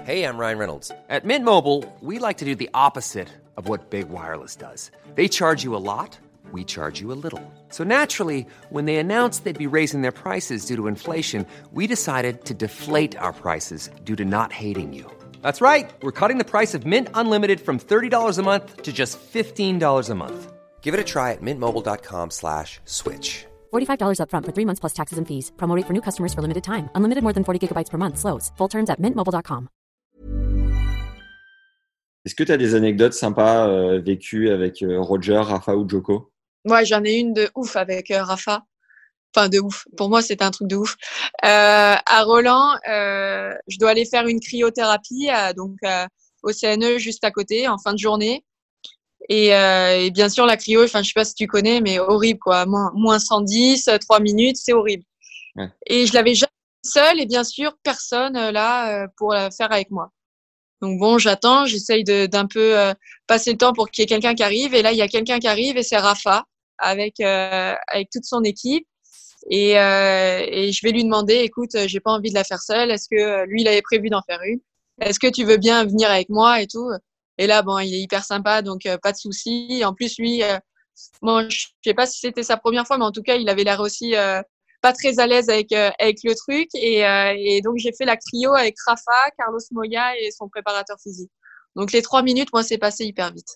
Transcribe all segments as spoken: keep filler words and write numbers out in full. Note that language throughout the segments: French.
Hey, I'm Ryan Reynolds. At Mint Mobile, we like to do the opposite of what Big Wireless does. They charge you a lot, we charge you a little. So naturally, when they announced they'd be raising their prices due to inflation, we decided to deflate our prices due to not hating you. That's right. We're cutting the price of Mint Unlimited from thirty dollars a month to just fifteen dollars a month. Give it a try at mintmobile.com slash switch. forty-five dollars up front for three months plus taxes and fees. Promo rate for new customers for limited time. Unlimited more than forty gigabytes per month. Slows full terms at mint mobile dot com. Est-ce que tu as des anecdotes sympas euh, vécues avec euh, Roger, Rafa ou Djoko? Ouais, j'en ai une de ouf avec euh, Rafa. Enfin, de ouf. Pour moi, c'était un truc de ouf. Euh, à Roland, euh, je dois aller faire une cryothérapie à, donc euh, au C N E juste à côté en fin de journée. Et, euh, et bien sûr, la cryo, enfin, je sais pas si tu connais, mais horrible, quoi. Moins, moins cent dix, trois minutes, c'est horrible. Ouais. Et je l'avais jamais seule et bien sûr, personne euh, là euh, pour la faire avec moi. Donc bon, j'attends, j'essaye de, d'un peu euh, passer le temps pour qu'il y ait quelqu'un qui arrive. Et là, il y a quelqu'un qui arrive et c'est Rafa avec euh, avec toute son équipe. Et, euh, et je vais lui demander, écoute, j'ai pas envie de la faire seule. Est-ce que lui, il avait prévu d'en faire une? Est-ce que tu veux bien venir avec moi et tout? Et là, bon, il est hyper sympa, donc euh, pas de souci. En plus, lui, euh, bon, je sais pas si c'était sa première fois, mais en tout cas, il avait l'air aussi euh, pas très à l'aise avec euh, avec le truc. Et, euh, et donc, j'ai fait la cryo avec Rafa, Carlos Moya et son préparateur physique. Donc, les trois minutes, moi, c'est passé hyper vite.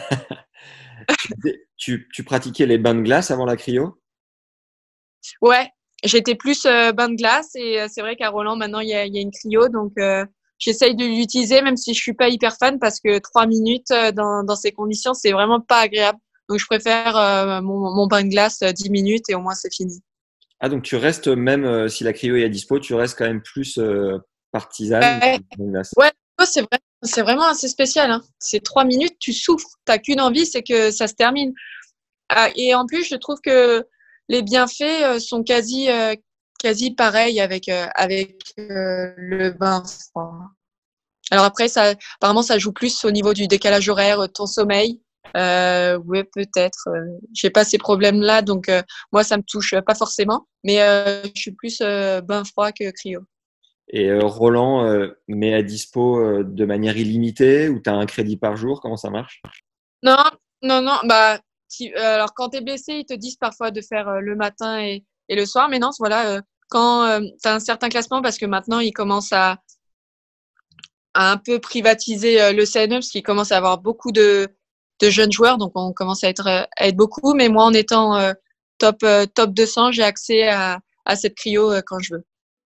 tu, tu pratiquais les bains de glace avant la cryo? Ouais, j'étais plus euh, bain de glace et euh, c'est vrai qu'à Roland, maintenant, il y a, il y a une cryo, donc euh, j'essaye de l'utiliser, même si je suis pas hyper fan, parce que trois minutes euh, dans, dans ces conditions, c'est vraiment pas agréable. Donc, je préfère euh, mon, mon bain de glace euh, dix minutes et au moins, c'est fini. Ah, donc tu restes, même euh, si la cryo est à dispo, tu restes quand même plus euh, partisane ouais. de bain de glace. Ouais, c'est, vrai, c'est vraiment assez spécial. Hein. C'est trois minutes, tu souffres. T'as qu'une envie, c'est que ça se termine. Ah, et en plus, je trouve que les bienfaits euh, sont quasi, euh, quasi pareils avec, euh, avec euh, le bain froid. Alors après, ça, apparemment, ça joue plus au niveau du décalage horaire, ton sommeil. Euh, oui, peut-être. Euh, j'ai pas ces problèmes-là, donc euh, moi, ça me touche pas forcément. Mais euh, je suis plus euh, bain froid que cryo. Et euh, Roland euh, met à dispo euh, de manière illimitée ou tu as un crédit par jour? Comment ça marche? Non, non, non. Bah, tu, euh, alors quand t'es blessé, ils te disent parfois de faire euh, le matin et, et le soir. Mais non, voilà, euh, quand euh, tu as un certain classement, parce que maintenant, ils commencent à, à un peu privatiser euh, le C N E, parce qu'ils commencent à avoir beaucoup de de jeunes joueurs, donc on commence à être à être beaucoup. Mais moi, en étant euh, top euh, top deux cents, j'ai accès à à cette cryo euh, quand je veux.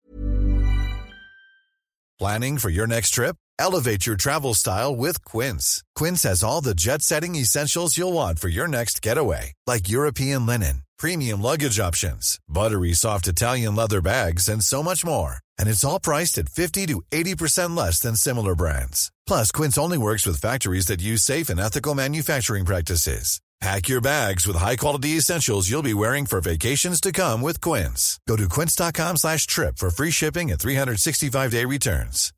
Planning for your next trip? Elevate your travel style with Quince. Quince has all the jet-setting essentials you'll want for your next getaway, like European linen, premium luggage options, buttery soft Italian leather bags, and so much more. And it's all priced at fifty to eighty percent less than similar brands. Plus, Quince only works with factories that use safe and ethical manufacturing practices. Pack your bags with high-quality essentials you'll be wearing for vacations to come with Quince. Go to quince.com slash trip for free shipping and three sixty-five day returns.